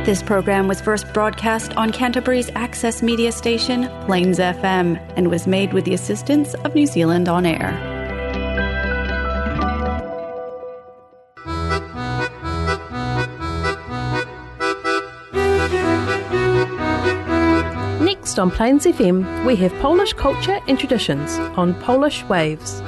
This program was first broadcast on Canterbury's access media station, Plains FM, and was made with the assistance of New Zealand On Air. Next on Plains FM, we have Polish culture and traditions on Polish Waves.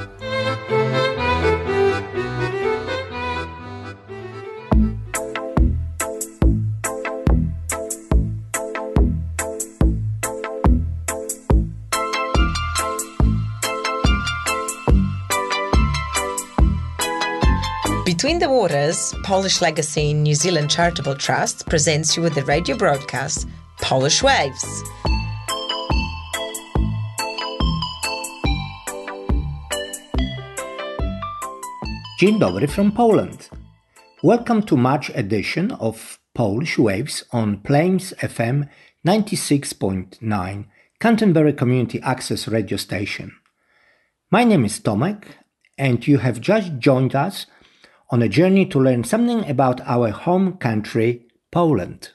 Between the Waters, Polish Legacy New Zealand Charitable Trust presents you with the radio broadcast Polish Waves. Dzień dobry from Poland. Welcome to March edition of Polish Waves on Plains FM 96.9, Canterbury Community Access radio station. My name is Tomek, and you have just joined us on a journey to learn something about our home country, Poland.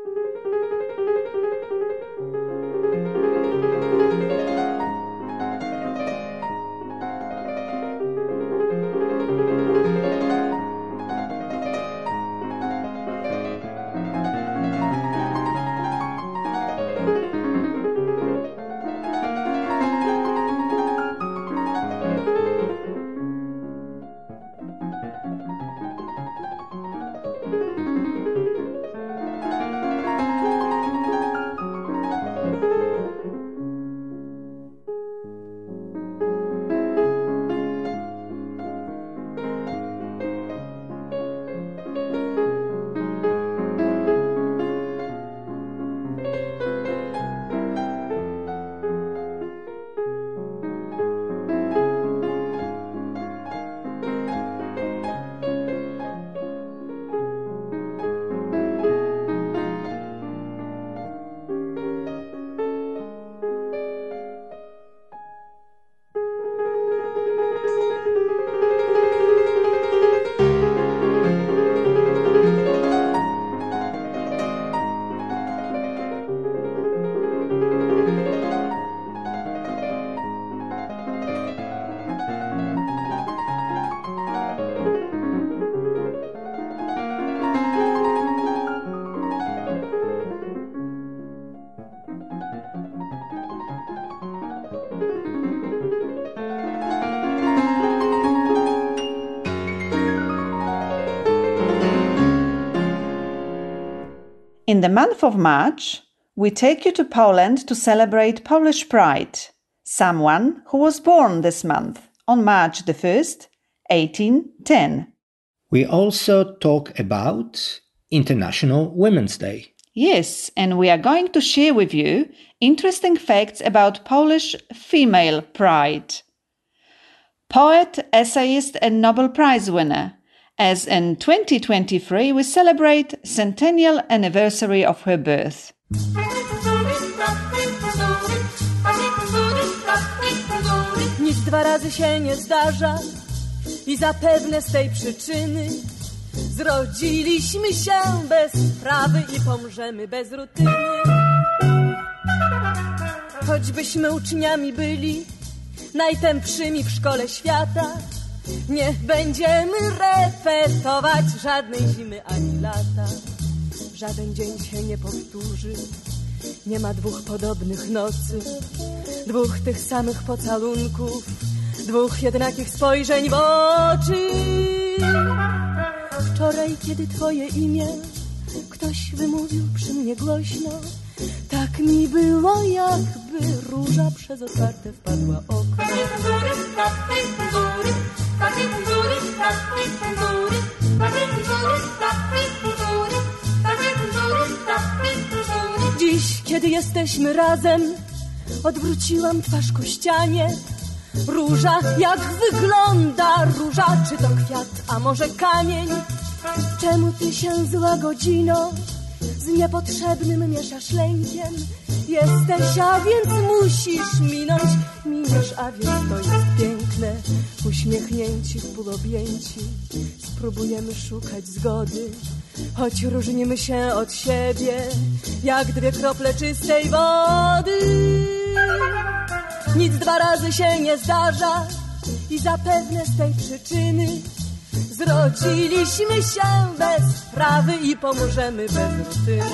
In the month of March, we take you to Poland to celebrate Polish Pride, someone who was born this month on March the 1st, 1810. We also talk about International Women's Day. Yes, and we are going to share with you interesting facts about Polish female pride. Poet, essayist and Nobel Prize winner, as in 2023 we celebrate centennial anniversary of her birth. Nic dwa razy się nie zdarza i zapewne z tej przyczyny zrodziliśmy się bez sprawy i pomrzemy bez rutyny. Choćbyśmy uczniami byli najtępszymi w szkole świata, nie będziemy repetować żadnej zimy ani lata. Żaden dzień się nie powtórzy, nie ma dwóch podobnych nocy, dwóch tych samych pocałunków, dwóch jednakich spojrzeń w oczy. Wczoraj, kiedy twoje imię ktoś wymówił przy mnie głośno, tak mi było, jakby róża przez otwarte wpadła okno. Dziś, kiedy jesteśmy razem, odwróciłam twarz ku ścianie. Róża, jak wygląda róża? Czy to kwiat, a może kamień? Czemu ty się zła godzino z niepotrzebnym mieszasz lękiem. Jesteś, a więc musisz minąć. Miniesz, a więc to jest piękne. Uśmiechnięci, w pół objęci spróbujemy szukać zgody, choć różnimy się od siebie jak dwie krople czystej wody. Nic dwa razy się nie zdarza i zapewne z tej przyczyny zrodziliśmy się bez sprawy i pomożemy bez rutyny.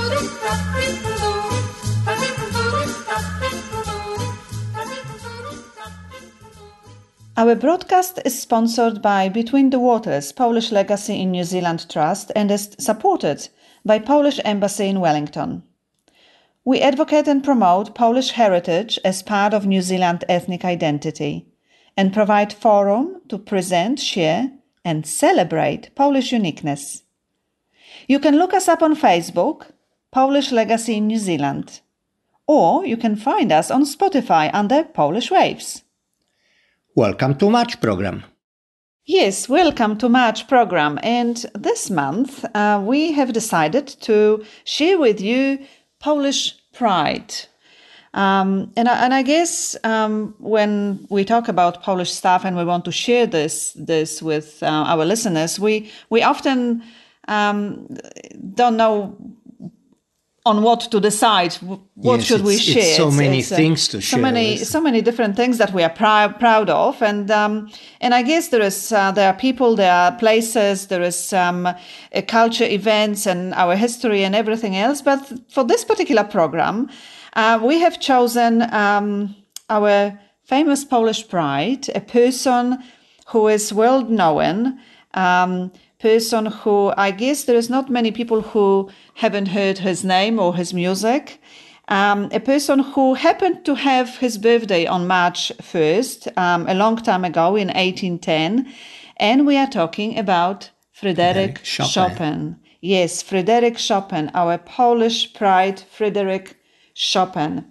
Our broadcast is sponsored by Between the Waters Polish Legacy in New Zealand Trust and is supported by Polish Embassy in Wellington. We advocate and promote Polish heritage as part of New Zealand ethnic identity and provide forum to present, share and celebrate Polish uniqueness. You can look us up on Facebook, Polish Legacy in New Zealand, or you can find us on Spotify under Polish Waves. Welcome to March program. Yes, welcome to March program. And this month we have decided to share with you Polish pride. And I guess when we talk about Polish stuff and we want to share this with our listeners, we often don't know on what to decide. What should we share? It's so many things to share. So many different things that we are proud of, and I guess there are people, there are places, there is culture events and our history and everything else. But for this particular program, we have chosen our famous Polish pride, a person who is world known. Person who, I guess there is not many people who haven't heard his name or his music. A person who happened to have his birthday on March 1st, a long time ago in 1810. And we are talking about Fryderyk Chopin. Yes, Fryderyk Chopin, our Polish pride, Fryderyk Chopin.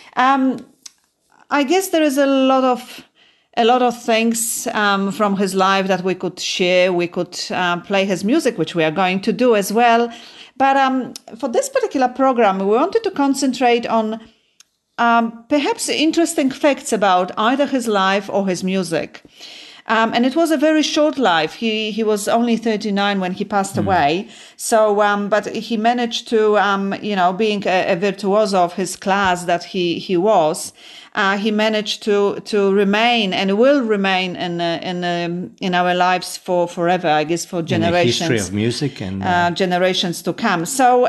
I guess there is a lot of things from his life that we could share. We could play his music, which we are going to do as well. But for this particular program, we wanted to concentrate on perhaps interesting facts about either his life or his music. And it was a very short life. He was only 39 when he passed away. So, but he managed to, being a virtuoso of his class that he was, he managed to remain and will remain in our lives for forever. I guess for generations. In the history of music and generations to come. So,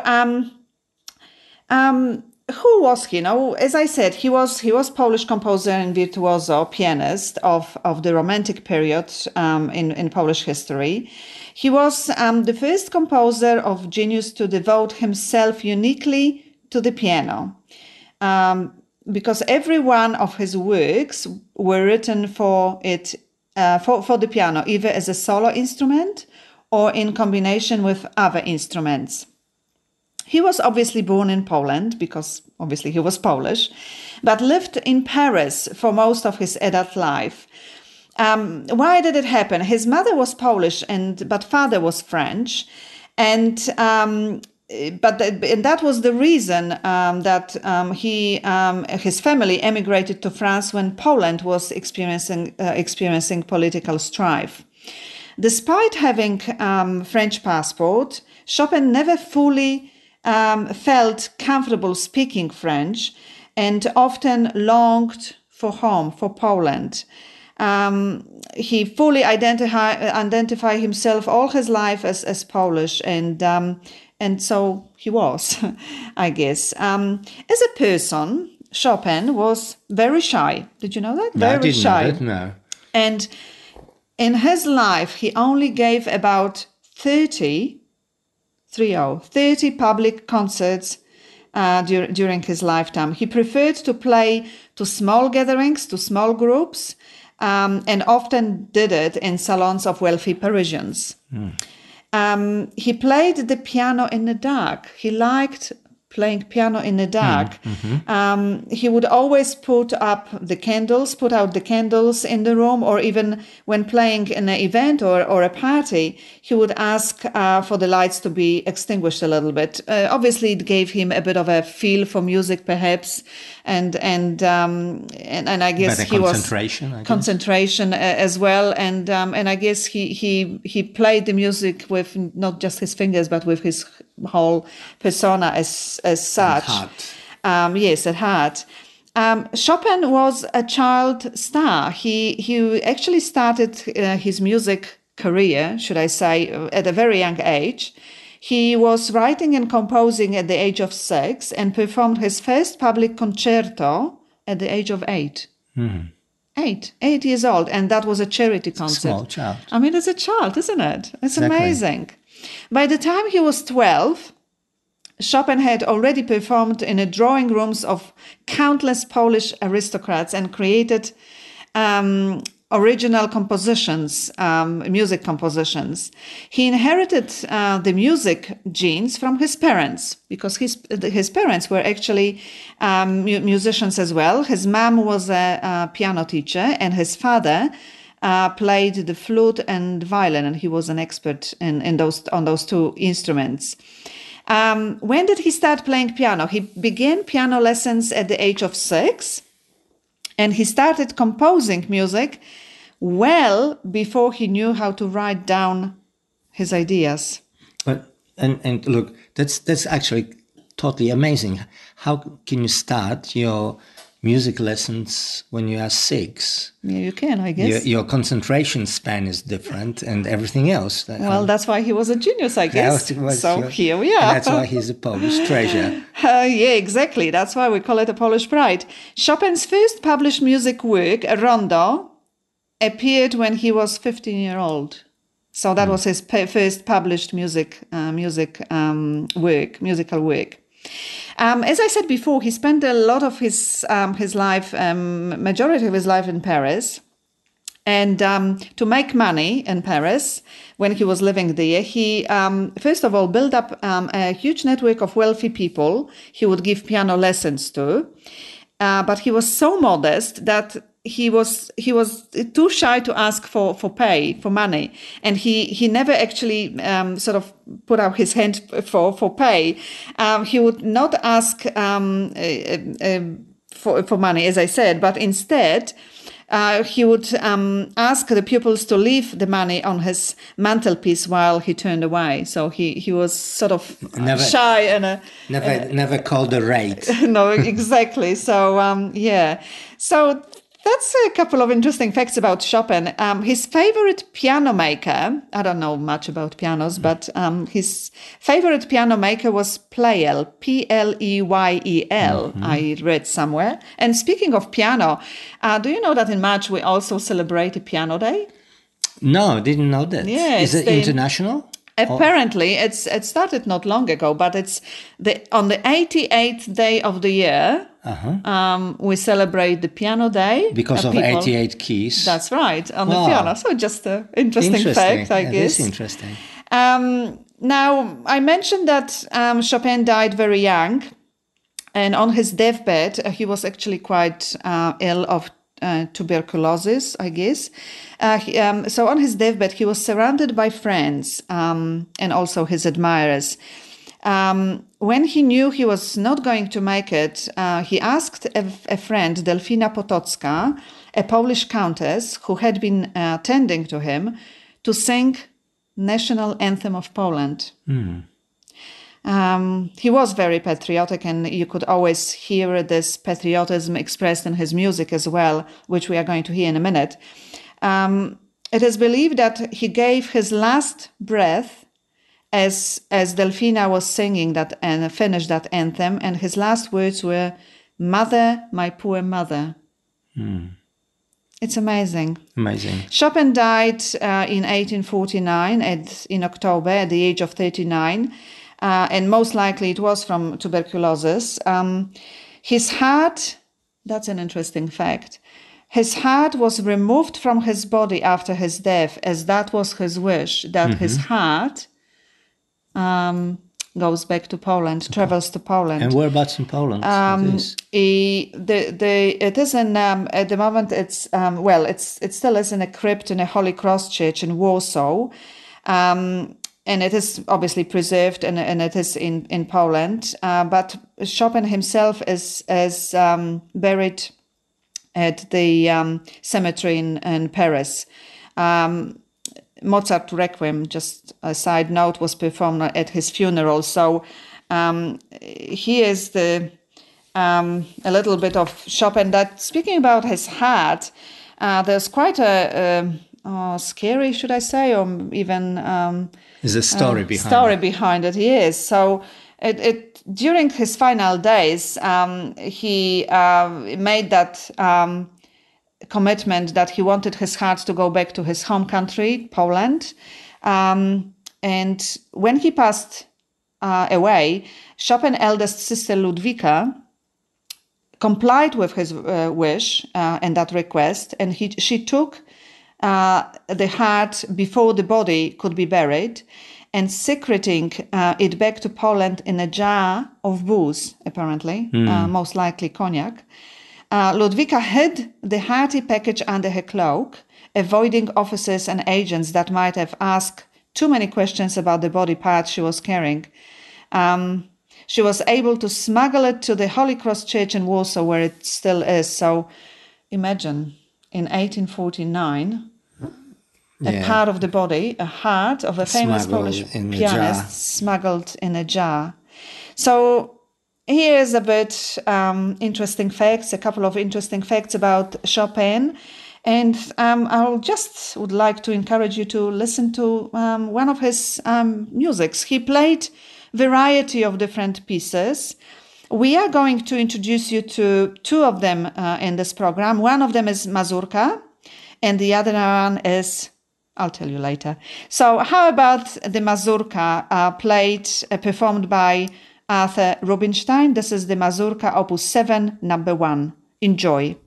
who was he? As I said, he was Polish composer and virtuoso pianist of the Romantic period in Polish history. He was the first composer of genius to devote himself uniquely to the piano, because every one of his works were written for the piano, either as a solo instrument or in combination with other instruments. He was obviously born in Poland because obviously he was Polish, but lived in Paris for most of his adult life. Why did it happen? His mother was Polish but father was French, and that was the reason that his family emigrated to France when Poland was experiencing political strife. Despite having French passport, Chopin never fully felt comfortable speaking French and often longed for home, for Poland. He fully identified himself all his life as Polish, and so he was, I guess. As a person, Chopin was very shy. Did you know that? Very shy. I didn't know that, no. And in his life, he only gave about 30 public concerts during his lifetime. He preferred to play to small gatherings, to small groups, and often did it in salons of wealthy Parisians. He played the piano in the dark. He liked playing piano in the dark. He would always put out the candles in the room, or even when playing in an event or a party, he would ask for the lights to be extinguished a little bit. Obviously, it gave him a bit of a feel for music, perhaps, and I guess he was concentration as well, and I guess he played the music with not just his fingers, but with his whole persona as such. Yes, at heart. Chopin was a child star. He actually started his music career, should I say, at a very young age. He was writing and composing at the age of 6 and performed his first public concerto at the age of 8. 8 years old, and that was a charity concert. Small child. I mean, it's a child, isn't it? It's amazing. By the time he was 12, Chopin had already performed in the drawing rooms of countless Polish aristocrats and created original compositions, music compositions. He inherited the music genes from his parents, because his parents were actually musicians as well. His mom was a piano teacher, and his father played the flute and violin, and he was an expert on those two instruments. When did he start playing piano? He began piano lessons at the age of 6. And he started composing music well before he knew how to write down his ideas. But and look, that's actually totally amazing. How can you start your music lessons when you are 6? Yeah, you can, I guess. Your concentration span is different and everything else. Well, that's why he was a genius, I guess. Here we are. And that's why he's a Polish treasure. Yeah, exactly. That's why we call it a Polish pride. Chopin's first published music work, a rondo, appeared when he was 15 years old. So that was his first published musical work. As I said before, he spent a lot of his life, majority of his life in Paris. And to make money in Paris, when he was living there, he first of all built up a huge network of wealthy people he would give piano lessons to. But he was so modest that he was too shy to ask for money, and he never actually sort of put out his hand for pay. He would not ask for money, as I said, but instead he would ask the pupils to leave the money on his mantelpiece while he turned away. So he was sort of shy and never called a rate. No, exactly. So yeah. So that's a couple of interesting facts about Chopin. His favorite piano maker, I don't know much about pianos, but his favorite piano maker was Pleyel, Pleyel, I read somewhere. And speaking of piano, do you know that in March we also celebrate a Piano Day? No, didn't know that. Yeah, is it international? Apparently, it started not long ago, but it's on the 88th day of the year. We celebrate the Piano Day because of 88 keys. That's right, on the piano. So just an interesting fact, I guess. It is interesting. Now, I mentioned that Chopin died very young, and on his deathbed, he was actually quite ill of tuberculosis, I guess. So on his deathbed, he was surrounded by friends and also his admirers. When he knew he was not going to make it, he asked a friend, Delfina Potocka, a Polish countess who had been tending to him, to sing national anthem of Poland. He was very patriotic, and you could always hear this patriotism expressed in his music as well, which we are going to hear in a minute. It is believed that he gave his last breath as Delfina was singing that and finished that anthem, and his last words were, "Mother, my poor mother." It's amazing. Amazing. Chopin died in 1849 in October at the age of 39. And most likely it was from tuberculosis. His heart, that's an interesting fact, his heart was removed from his body after his death, as that was his wish, that his heart goes back to Poland, travels to Poland. And whereabouts in Poland it is in at the moment. It's it still is in a crypt in a Holy Cross Church in Warsaw, and it is obviously preserved, and it is in Poland. But Chopin himself is buried at the cemetery in Paris. Mozart Requiem, just a side note, was performed at his funeral. So here is a little bit of Chopin. That speaking about his heart, there's quite a scary, should I say, or even there's a story behind it. Yes. So it during his final days, he made that commitment that he wanted his heart to go back to his home country, Poland. And when he passed away, Chopin's eldest sister Ludwika complied with his wish and that request, and she took the heart before the body could be buried, and secreting it back to Poland in a jar of booze, apparently, most likely cognac. Ludwika hid the hearty package under her cloak, avoiding officers and agents that might have asked too many questions about the body parts she was carrying. She was able to smuggle it to the Holy Cross Church in Warsaw, where it still is. So imagine, in 1849, a part of the body, a heart of a famous Polish pianist, smuggled in a jar. So here's a bit interesting facts, a couple of interesting facts about Chopin. And I would like to encourage you to listen to one of his musics. He played variety of different pieces. We are going to introduce you to two of them in this program. One of them is Mazurka, and the other one is, I'll tell you later. So how about the Mazurka performed by Arthur Rubinstein? This is the Mazurka Opus 7, number 1. Enjoy.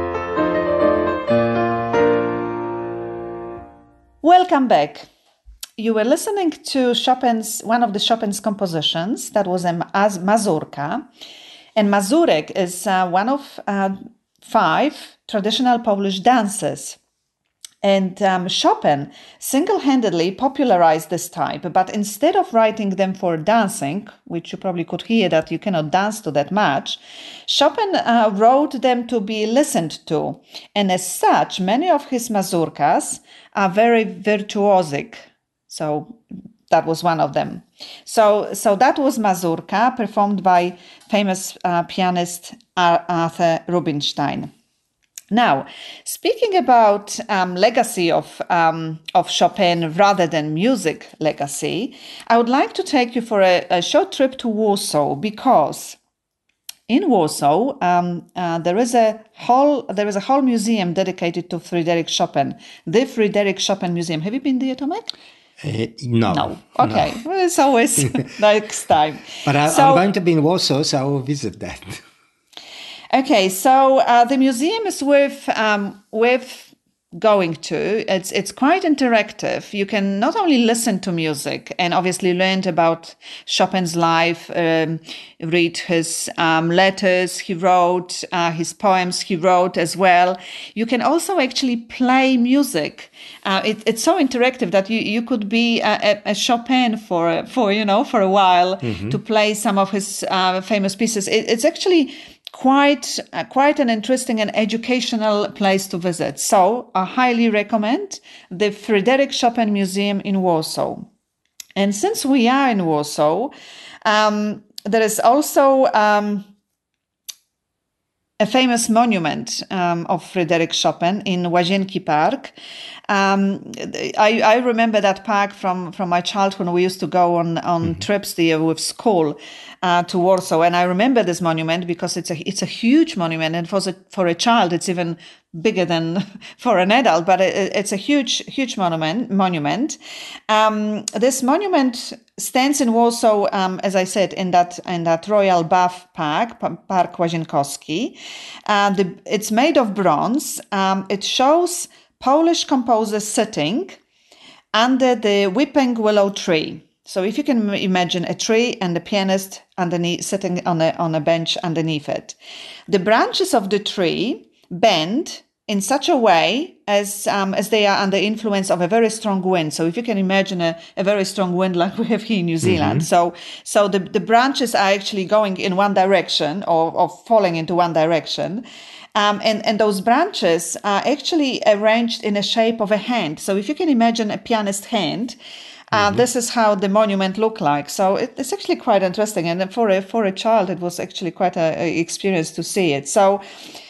Welcome back. you were listening to one of the Chopin's compositions. That was a mazurka. And mazurek is one of 5 traditional Polish dances. And Chopin single-handedly popularized this type, but instead of writing them for dancing, which you probably could hear that you cannot dance to that much, Chopin wrote them to be listened to. And as such, many of his mazurkas are very virtuosic. So that was one of them. So that was mazurka, performed by famous pianist Arthur Rubinstein. Now, speaking about legacy of Chopin rather than music legacy, I would like to take you for a short trip to Warsaw, because in Warsaw there is a whole museum dedicated to Frédéric Chopin, the Frédéric Chopin Museum. Have you been there, Tomek? No. Okay, No. Well, it's always next time. But I'm going to be in Warsaw, so I will visit that. Okay, so the museum is worth going to. It's quite interactive. You can not only listen to music and obviously learn about Chopin's life, read his letters he wrote, his poems he wrote as well. You can also actually play music. It's so interactive that you could be a Chopin for a while, to play some of his famous pieces. It's actually quite an interesting and educational place to visit. So I highly recommend the Frédéric Chopin Museum in Warsaw. And since we are in Warsaw, there is also a famous monument of Frédéric Chopin in Łazienki Park. I remember that park from my childhood. We used to go on trips there with school to Warsaw, and I remember this monument because it's a huge monument, and for a child it's even bigger than for an adult. But it's a huge monument. This monument stands in Warsaw, as I said, in that Royal Bath Park, Park Łazienkowski. It's made of bronze. It shows Polish composer sitting under the weeping willow tree. So if you can imagine a tree and the pianist underneath, sitting on a bench underneath it. The branches of the tree bend in such a way as they are under influence of a very strong wind. So if you can imagine a very strong wind like we have here in New Zealand. So the branches are actually going in one direction or falling into one direction. And those branches are actually arranged in a shape of a hand. So if you can imagine a pianist hand, this is how the monument looked like. So it's actually quite interesting. And for a child, it was actually quite an experience to see it. So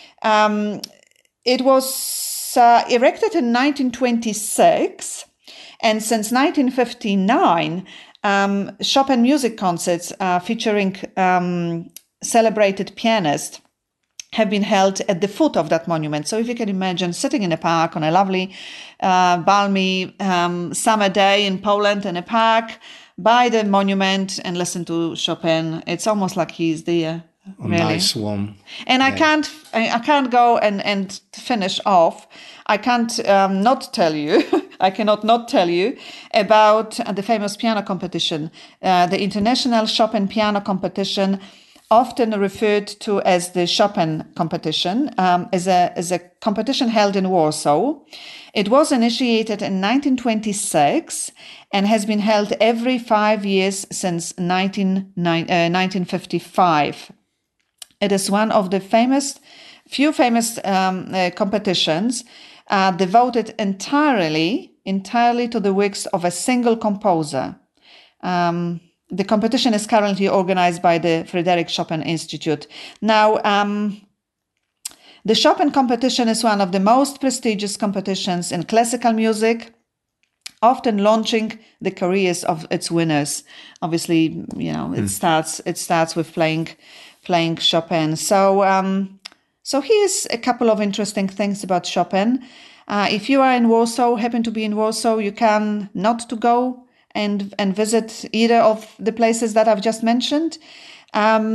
it was erected in 1926. And since 1959, Chopin music concerts featuring celebrated pianists have been held at the foot of that monument. So if you can imagine sitting in a park on a lovely, balmy summer day in Poland in a park by the monument and listen to Chopin, it's almost like he's there. Really. Nice one. And yeah. I can't go and finish off. I can't not tell you. I cannot not tell you about the famous piano competition, the International Chopin Piano Competition, often referred to as the Chopin competition, is a competition held in Warsaw. It was initiated in 1926 and has been held every 5 years since 1955. It is one of the few famous competitions devoted entirely to the works of a single composer. The competition is currently organized by the Frédéric Chopin Institute. Now, the Chopin competition is one of the most prestigious competitions in classical music, often launching the careers of its winners. Obviously, it starts with playing Chopin. So here's a couple of interesting things about Chopin. If you are in Warsaw, happen to be in Warsaw, you can not to go and visit either of the places that I've just mentioned.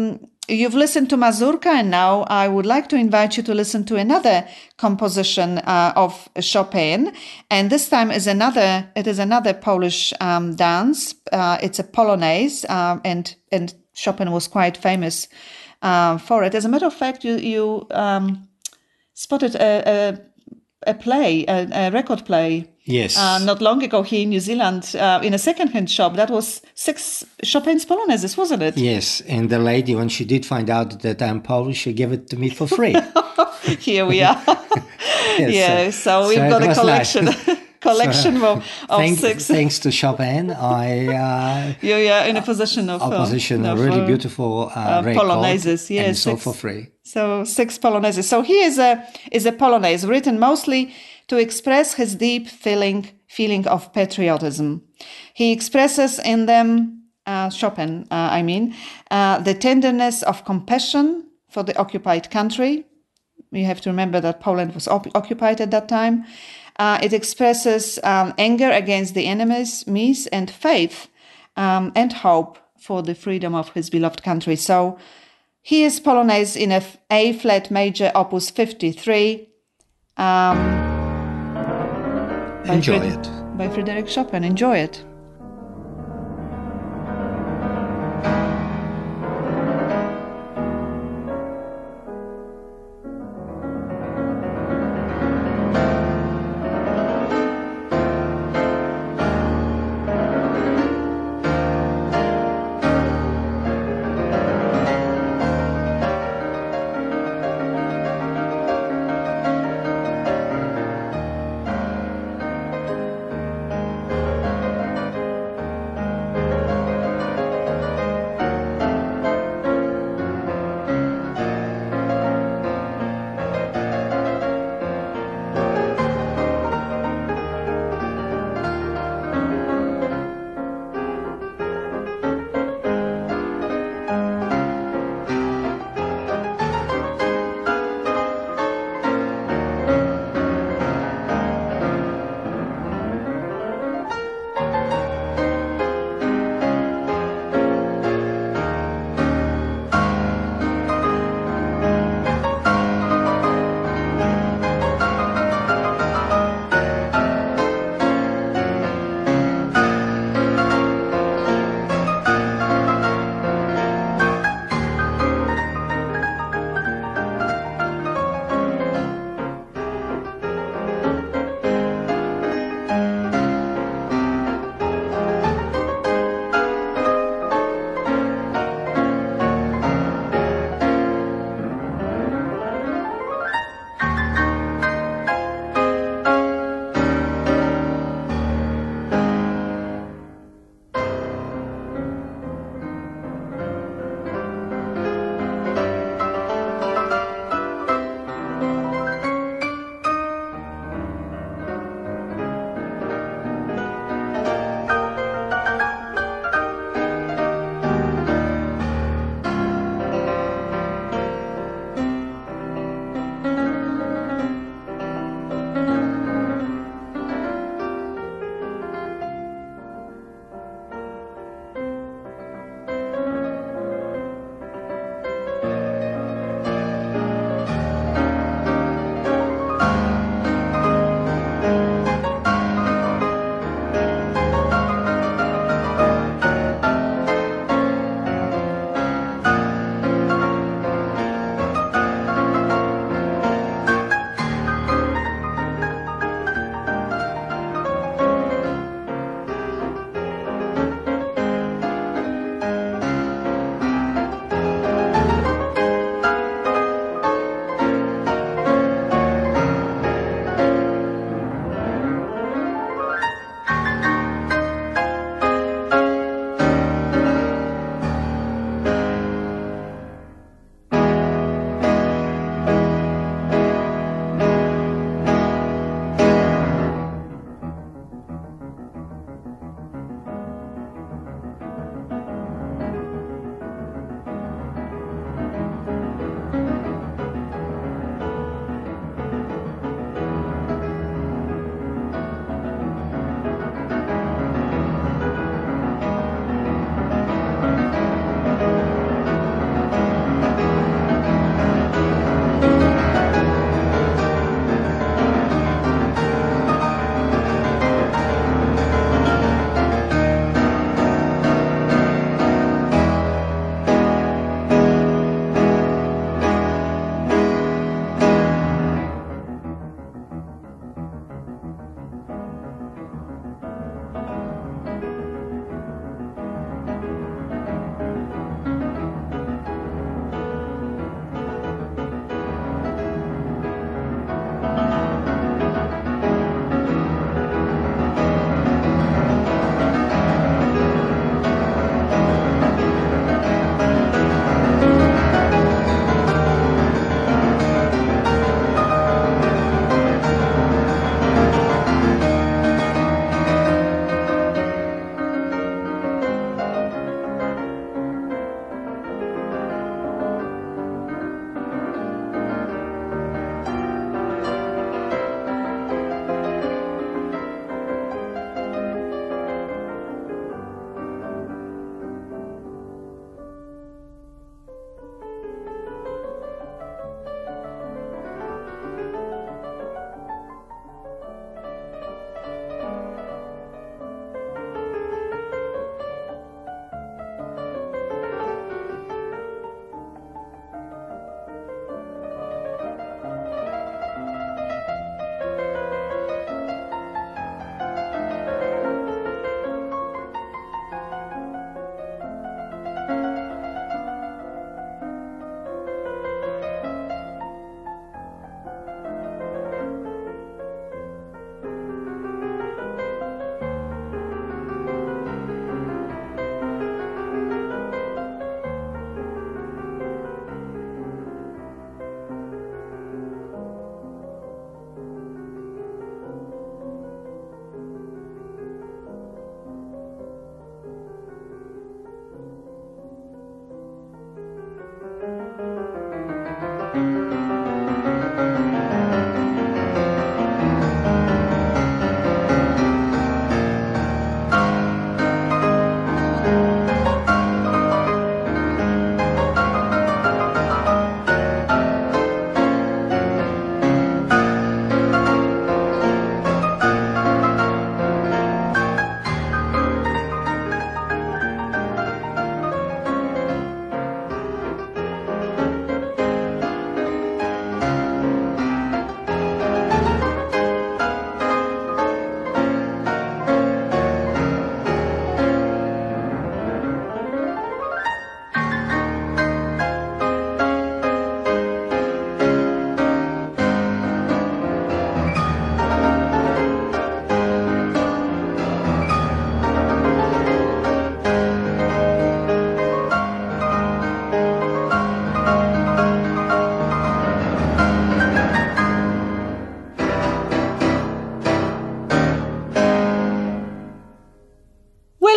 You've listened to Mazurka, and now I would like to invite you to listen to another composition of Chopin. And this time it is another Polish dance. It's a Polonaise, and Chopin was quite famous for it. As a matter of fact, you spotted a record play. Yes. Not long ago here in New Zealand, in a second-hand shop. That was 6 Chopin's Polonaises, wasn't it? Yes, and the lady, when she did find out that I'm Polish, she gave it to me for free. Here we are. Yes, so we've got a collection. Nice. Collection of 6. Thanks to Chopin, You're in a position of a really beautiful Polonaises. Yes, and sold for free. So 6 Polonaises. So here is a Polonaise written mostly to express his deep feeling of patriotism. He expresses in them, Chopin, the tenderness of compassion for the occupied country. You have to remember that Poland was occupied at that time. It expresses anger against the enemies, and faith and hope for the freedom of his beloved country. So here's Polonaise in A flat major, opus 53. Enjoy it. By Frédéric Chopin. Enjoy it.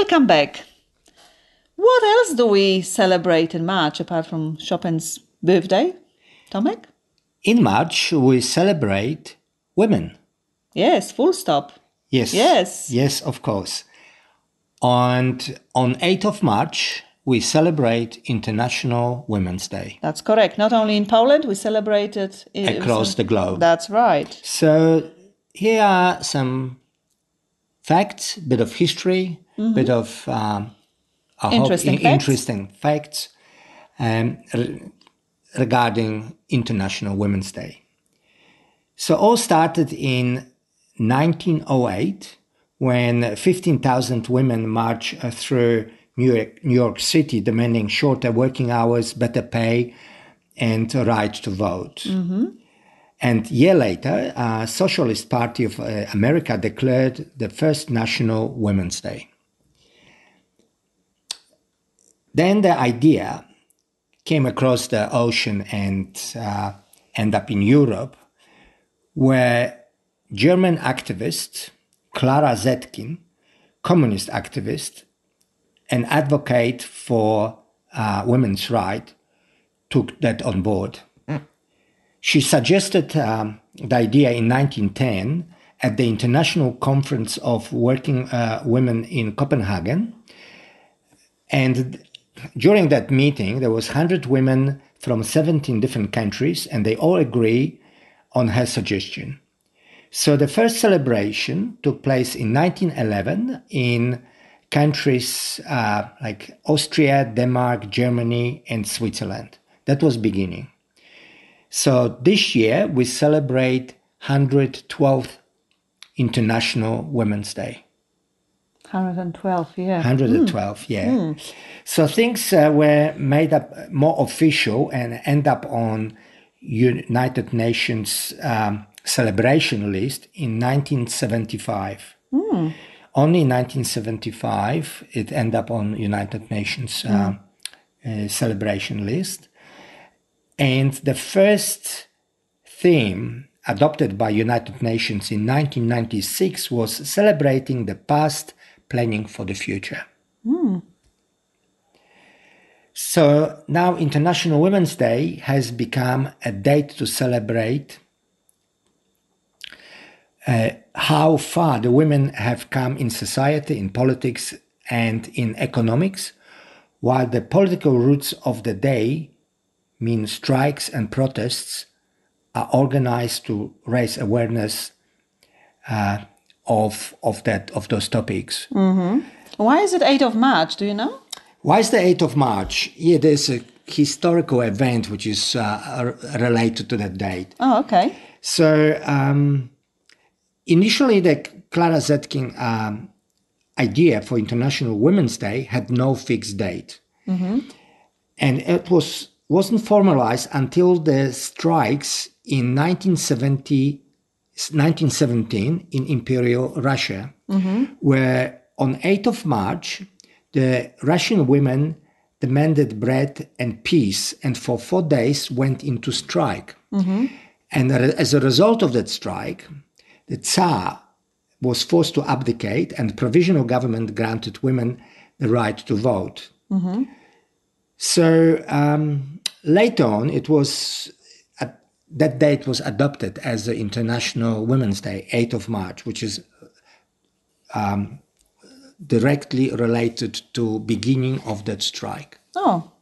welcome back. What else do we celebrate in March apart from Chopin's birthday, Tomek? In March, we celebrate women. Yes, full stop. Yes. Yes. Yes, of course. And on 8th of March, we celebrate International Women's Day. That's correct. Not only in Poland, we celebrate it Across the globe. That's right. So here are some facts, bit of history, bit of interesting facts regarding International Women's Day. So all started in 1908 when 15,000 women marched through New York City demanding shorter working hours, better pay, and a right to vote. And a year later, Socialist Party of America declared the first National Women's Day. Then the idea came across the ocean and ended up in Europe, where German activist Clara Zetkin, communist activist and advocate for women's rights, took that on board. She suggested the idea in 1910 at the International Conference of Working Women in Copenhagen. And during that meeting, there was 100 women from 17 different countries, and they all agree on her suggestion. So the first celebration took place in 1911 in countries like Austria, Denmark, Germany, and Switzerland. That was beginning. So this year we celebrate 112th International Women's Day. 112, yeah. 112, yeah. So things were made up more official and end up on United Nations celebration list in 1975. Only in 1975 it ended up on United Nations celebration list. And the first theme adopted by United Nations in 1996 was celebrating the past, planning for the future. So now International Women's Day has become a date to celebrate how far the women have come in society, in politics, and in economics, while the political roots of the day mean strikes and protests are organized to raise awareness of those topics. Why is it 8th of March? Do you know? Why is the 8th of March? Yeah, there's a historical event which is related to that date. Oh, okay. So initially, the Clara Zetkin idea for International Women's Day had no fixed date, and it wasn't formalized until the strikes in 1917 in Imperial Russia, where on 8th of March, the Russian women demanded bread and peace, and for 4 days went into strike. And as a result of that strike, the Tsar was forced to abdicate, and the provisional government granted women the right to vote. So later on, it was that date was adopted as the International Women's Day, 8th of March, which is directly related to beginning of that strike. Oh.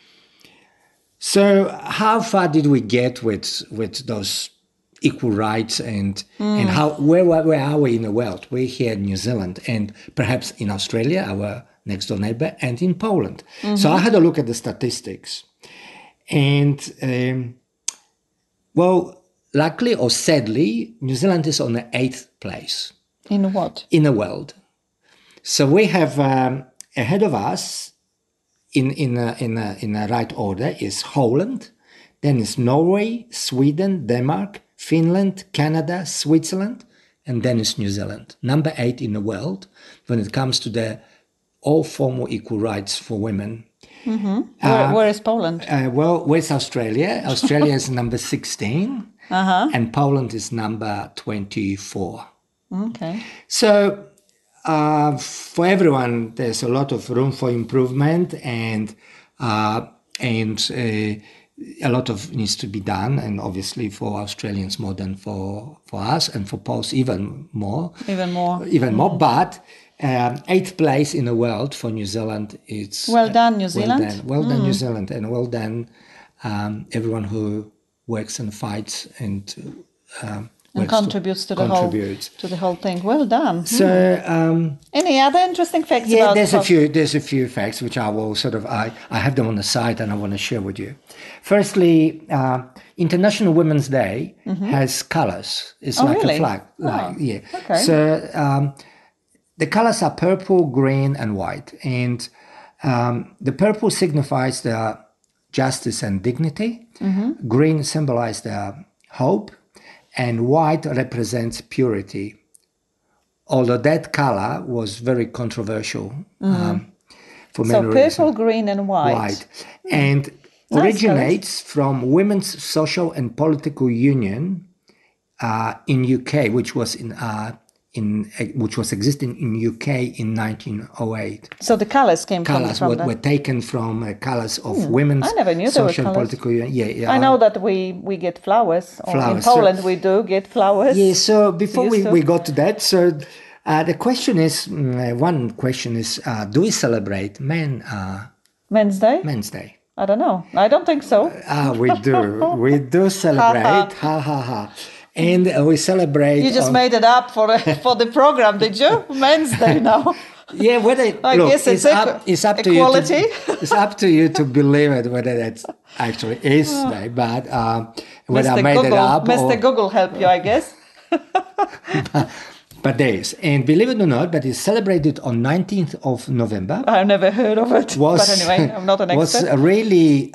So how far did we get with those equal rights and how where are we in the world? We're here in New Zealand and perhaps in Australia, our next door neighbor, and in Poland. So I had a look at the statistics, and luckily or sadly, New Zealand is on the 8th place. In what? In the world. So we have ahead of us in a right order is Holland, then is Norway, Sweden, Denmark, Finland, Canada, Switzerland, and then is New Zealand. Number 8 in the world when it comes to the all formal equal rights for women. Where is Poland? Where's Australia? Australia is number 16, and Poland is number 24. Okay. So for everyone, there's a lot of room for improvement, and a lot of needs to be done, and obviously for Australians more than for us, and for Poles even more. But 8th place in the world for New Zealand. It's well done, New Zealand. Well done, New Zealand, and well done everyone who works and fights and contributes to the whole thing. Well done. So, any other interesting facts? Yeah, there's a few facts which I will I have them on the site and I want to share with you. Firstly, International Women's Day has colours. It's like really? A flag. Okay. So the colours are purple, green, and white, and the purple signifies the justice and dignity. Green symbolizes the hope. And white represents purity. Although that color was very controversial for many reasons. So purple, green, and white. And originates from Women's Social and Political Union in UK, which was existing in UK in 1908. So the colours came from that. Were taken from colours of Women's Social and Political Union. Yeah. I know that we get flowers. In Poland, we do get flowers. Yeah. So before we got to that, so the question is, one question is, do we celebrate Men's Day? Men's Day. I don't know. I don't think so. We do. We do celebrate. Ha ha ha. And we celebrate. You just made it up for the program, did you? Men's Day now. Yeah, I guess it's up to equality. You. It's up to you to believe it whether that actually is day, but whether I made it up. Mr. Google help you, I guess. But there is, and believe it or not, but it's celebrated on 19th of November. I've never heard of it. But anyway, I'm not an expert. Was really.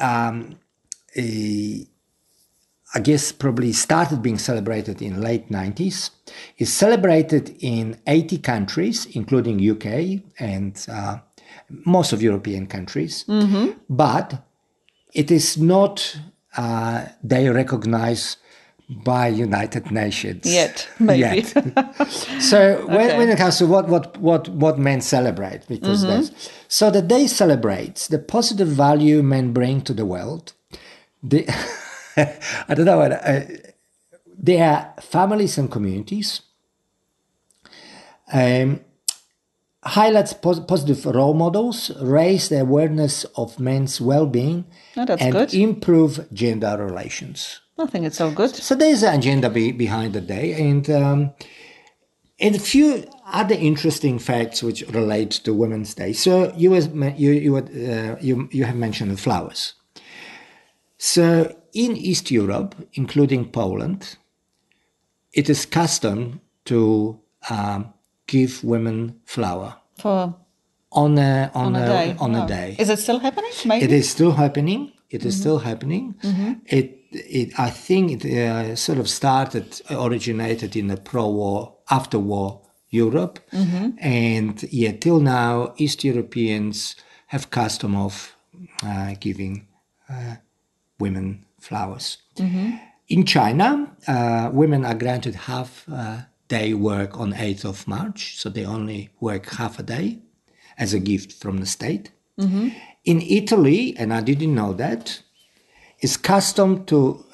I guess probably started being celebrated in late 90s. It's celebrated in 80 countries, including UK and most of European countries. But it is not they recognized by United Nations yet, maybe. So when it comes to what men celebrate, because so the day celebrates the positive value men bring to the world. I don't know. They are families and communities. Highlights positive role models, raise the awareness of men's well-being, and improve gender relations. I think it's all good. So there's an agenda behind the day, and a few other interesting facts which relate to Women's Day. So you have mentioned the flowers. So in East Europe, including Poland, it is custom to give women flower on a day. Is it still happening? Maybe? It is still happening. I think it sort of originated in the pro-war, after-war Europe, and till now, East Europeans have custom of giving women flowers. In China, women are granted half-day work on 8th of March, so they only work half a day as a gift from the state. In Italy, and I didn't know that, it's custom to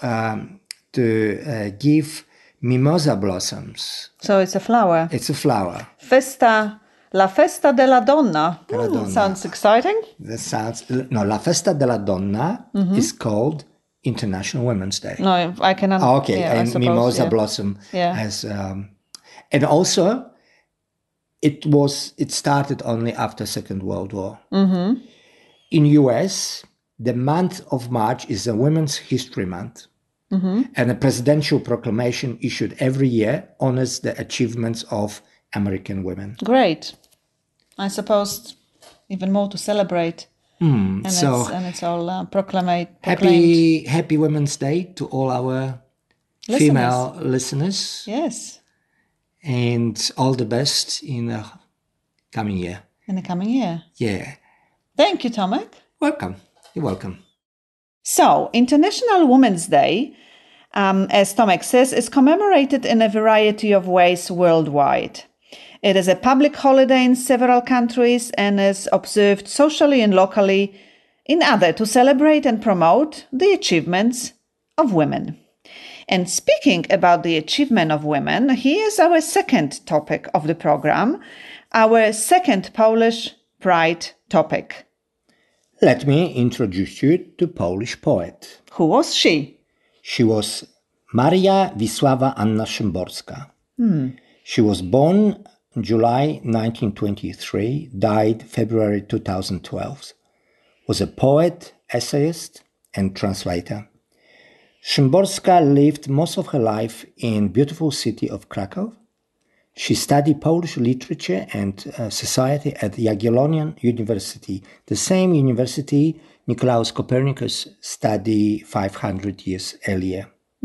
give mimosa blossoms. So it's a flower. It's a flower. La Festa della Donna. Sounds exciting. La Festa della Donna is called International Women's Day. No, I cannot. Okay, and suppose, mimosa blossom has, and also it started only after Second World War. In US, the month of March is a Women's History Month, and a presidential proclamation issued every year honors the achievements of American women. Great. I suppose even more to celebrate. And it's all proclaimed. Happy Women's Day to all our female listeners. Yes. And all the best in the coming year. Yeah. Thank you, Tomek. Welcome. You're welcome. So, International Women's Day, as Tomek says, is commemorated in a variety of ways worldwide. It is a public holiday in several countries and is observed socially and locally in order to celebrate and promote the achievements of women. And speaking about the achievement of women, here's our second topic of the program, our second Polish Pride topic. Let me introduce you to Polish poet. Who was she? She was Maria Wisława Anna Szymborska. She was born July 1923, died February 2012. Was a poet, essayist, and translator. Szymborska lived most of her life in beautiful city of Krakow. She studied Polish literature and society at Jagiellonian University, the same university Nicolaus Copernicus studied 500 years earlier.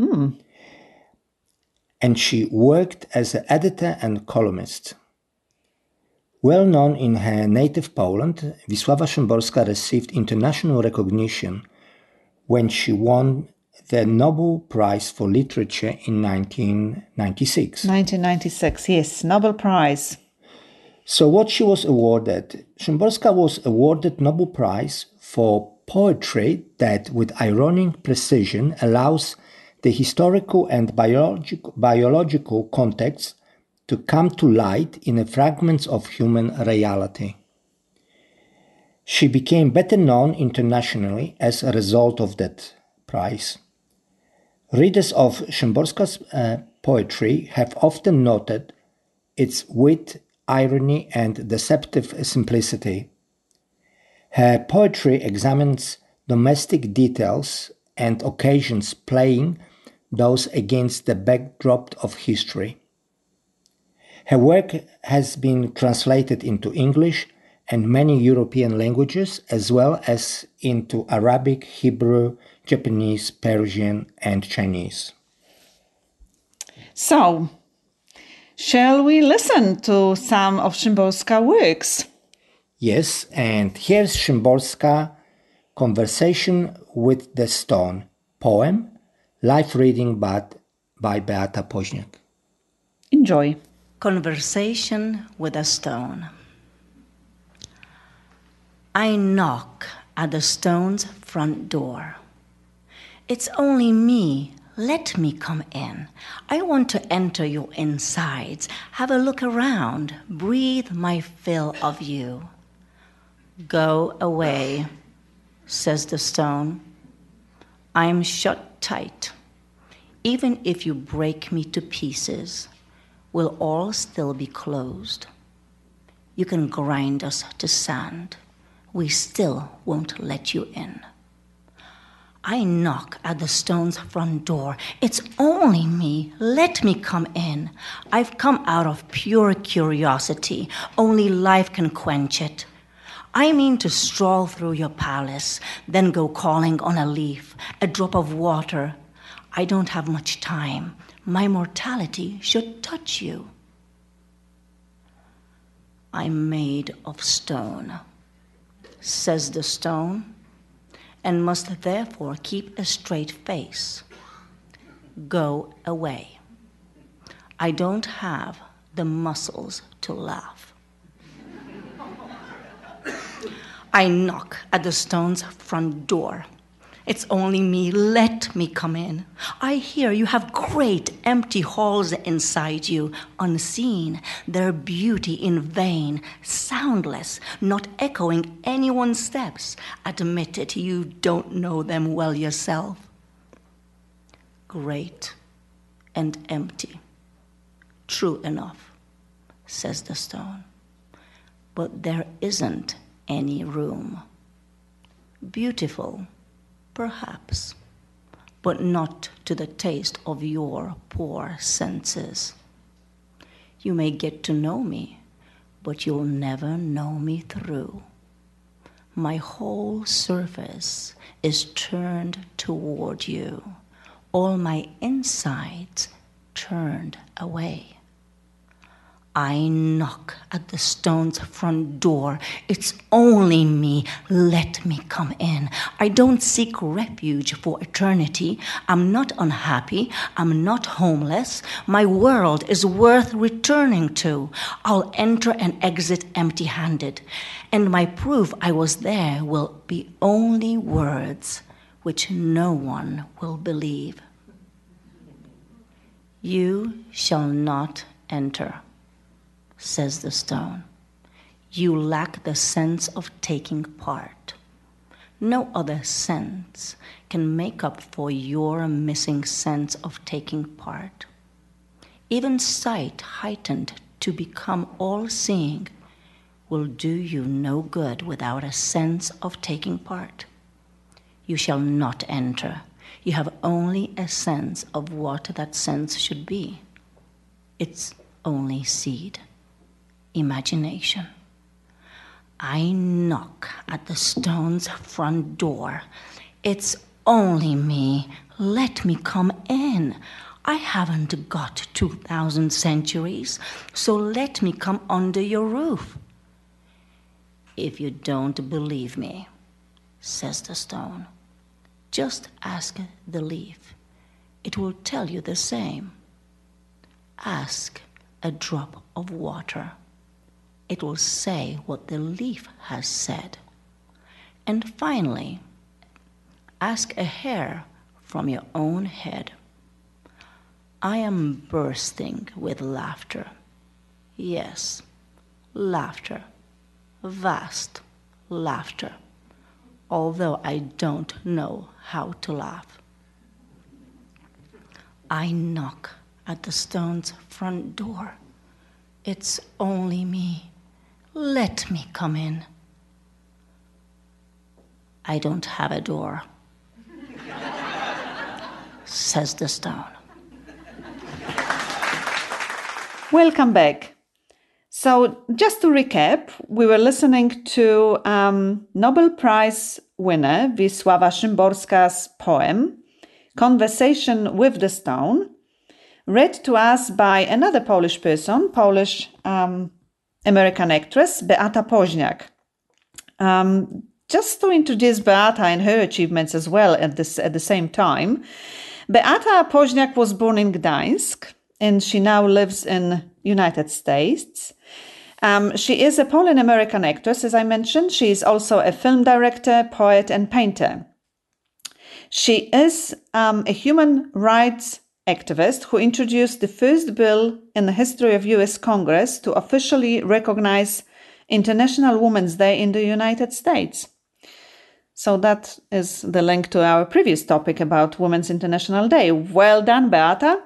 And she worked as an editor and columnist. Well known in her native Poland, Wisława Szymborska received international recognition when she won the Nobel Prize for Literature in 1996. 1996, yes, Nobel Prize. So what she was awarded? Szymborska was awarded Nobel Prize for poetry that with ironic precision allows the historical and biological context to come to light in the fragments of human reality. She became better known internationally as a result of that prize. Readers of Szymborska's poetry have often noted its wit, irony, and deceptive simplicity. Her poetry examines domestic details and occasions, playing those against the backdrop of history. Her work has been translated into English and many European languages, as well as into Arabic, Hebrew, Japanese, Persian, and Chinese. So, shall we listen to some of Szymborska's works? Yes, and here's Szymborska, Conversation with the Stone, poem, live reading by Beata Poźniak. Enjoy. Conversation with a Stone. I knock at the stone's front door. It's only me. Let me come in. I want to enter your insides, have a look around, breathe my fill of you. Go away, says the stone. I'm shut tight. Even if you break me to pieces, we'll all still be closed. You can grind us to sand. We still won't let you in. I knock at the stone's front door. It's only me. Let me come in. I've come out of pure curiosity. Only life can quench it. I mean to stroll through your palace, then go calling on a leaf, a drop of water. I don't have much time. My mortality should touch you. I'm made of stone, says the stone, and must therefore keep a straight face. Go away. I don't have the muscles to laugh. I knock at the stone's front door. It's only me. Let me come in. I hear you have great empty halls inside you, unseen, their beauty in vain, soundless, not echoing anyone's steps. Admit it, you don't know them well yourself. Great and empty. True enough, says the stone. But there isn't any room. Beautiful, perhaps, but not to the taste of your poor senses. You may get to know me, but you'll never know me through. My whole surface is turned toward you, all my insides turned away. I knock at the stone's front door. It's only me. Let me come in. I don't seek refuge for eternity. I'm not unhappy. I'm not homeless. My world is worth returning to. I'll enter and exit empty-handed. And my proof I was there will be only words which no one will believe. You shall not enter, says the stone. You lack the sense of taking part. No other sense can make up for your missing sense of taking part. Even sight heightened to become all-seeing will do you no good without a sense of taking part. You shall not enter. You have only a sense of what that sense should be. It's only seed. Imagination. I knock at the stone's front door. It's only me. Let me come in. I haven't got 2,000 centuries, so let me come under your roof. If you don't believe me, says the stone, just ask the leaf. It will tell you the same. Ask a drop of water. It will say what the leaf has said. And finally, ask a hair from your own head. I am bursting with laughter. Yes, laughter. Vast laughter. Although I don't know how to laugh. I knock at the stone's front door. It's only me. Let me come in. I don't have a door, says the stone. Welcome back. So, just to recap, we were listening to Nobel Prize winner Wisława Szymborska's poem, Conversation with the Stone, read to us by another Polish person, Polish American actress, Beata Poźniak. Just to introduce Beata and her achievements as well at the same time, Beata Poźniak was born in Gdańsk and she now lives in United States. She is a Polish-American actress, as I mentioned. She is also a film director, poet, and painter. She is a human rights activist who introduced the first bill in the history of US Congress to officially recognize International Women's Day in the United States. So that is the link to our previous topic about Women's International Day. Well done, Beata.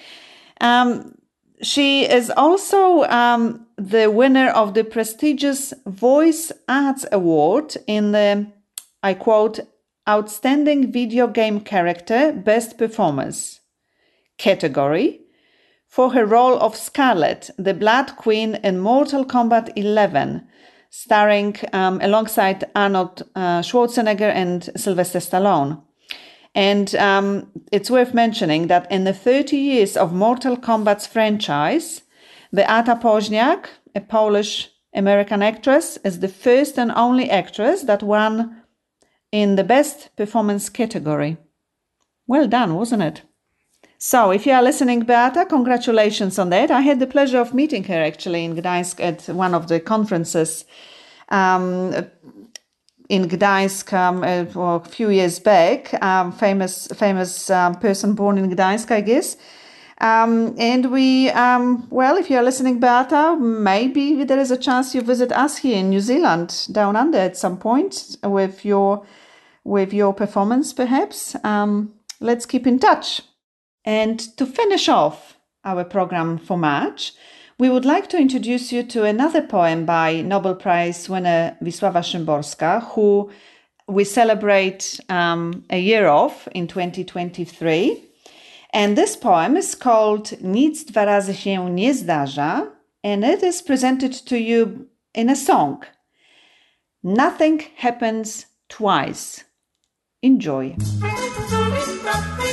She is also the winner of the prestigious Voice Arts Award in the, I quote, Outstanding Video Game Character Best Performance category for her role of Scarlet, the Blood Queen in Mortal Kombat 11, starring alongside Arnold Schwarzenegger and Sylvester Stallone. And it's worth mentioning that in the 30 years of Mortal Kombat's franchise, Beata Poźniak, a Polish-American actress, is the first and only actress that won in the Best Performance category. Well done, wasn't it? So, if you are listening, Beata, congratulations on that. I had the pleasure of meeting her actually in Gdańsk at one of the conferences in Gdańsk a few years back. Famous person born in Gdańsk, I guess. And we, well, if you are listening, Beata, maybe there is a chance you visit us here in New Zealand, down under at some point with your performance, perhaps. Let's keep in touch. And to finish off our program for March, we would like to introduce you to another poem by Nobel Prize winner Wisława Szymborska, who we celebrate a year of in 2023. And this poem is called Nic dwa razy się nie zdarza, and it is presented to you in a song. Nothing happens twice. Enjoy.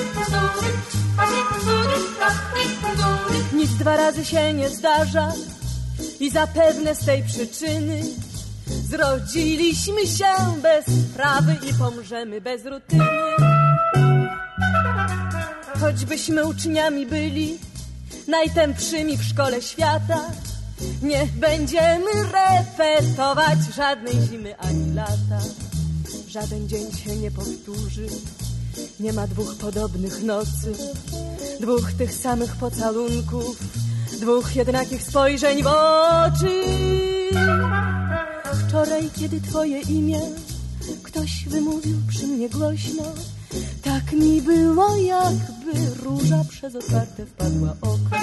Nic dwa razy się nie zdarza, I zapewne z tej przyczyny zrodziliśmy się bez sprawy i pomrzemy bez rutyny. Choćbyśmy uczniami byli najtępszymi w szkole świata, nie będziemy repetować żadnej zimy ani lata. Żaden dzień się nie powtórzy, nie ma dwóch podobnych nocy, dwóch tych samych pocałunków, dwóch jednakich spojrzeń w oczy. Wczoraj, kiedy twoje imię ktoś wymówił przy mnie głośno, tak mi było, jakby róża przez otwarte wpadła okno.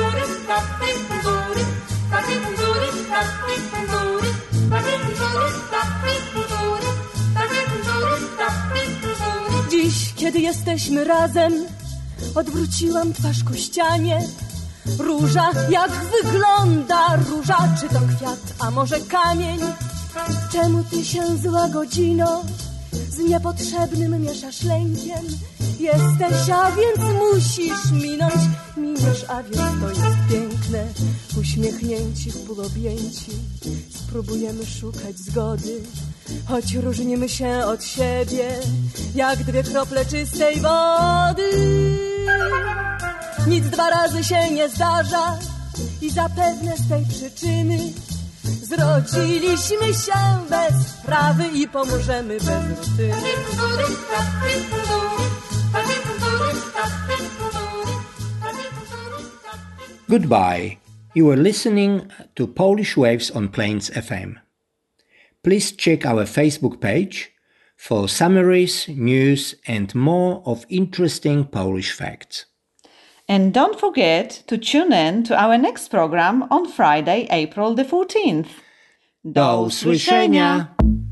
Dziś, kiedy jesteśmy razem, odwróciłam twarz ku ścianie. Róża, jak wygląda róża? Czy to kwiat, a może kamień? Czemu ty się, zła godzino, z niepotrzebnym mieszasz lękiem? Jesteś, a więc musisz minąć. Miniesz, a więc to jest piękne. Uśmiechnięci, wpólobjęci, spróbujemy szukać zgody, choć różnimy się od siebie, jak dwie krople czystej wody. Nic dwa razy się nie zdarza i zapewne z tej przyczyny zrodziliśmy się bez sprawy i pomożemy bez rutyny. Goodbye. You are listening to Polish Waves on Plains FM. Please check our Facebook page for summaries, news and more of interesting Polish facts. And don't forget to tune in to our next program on Friday, April the 14th. Do usłyszenia!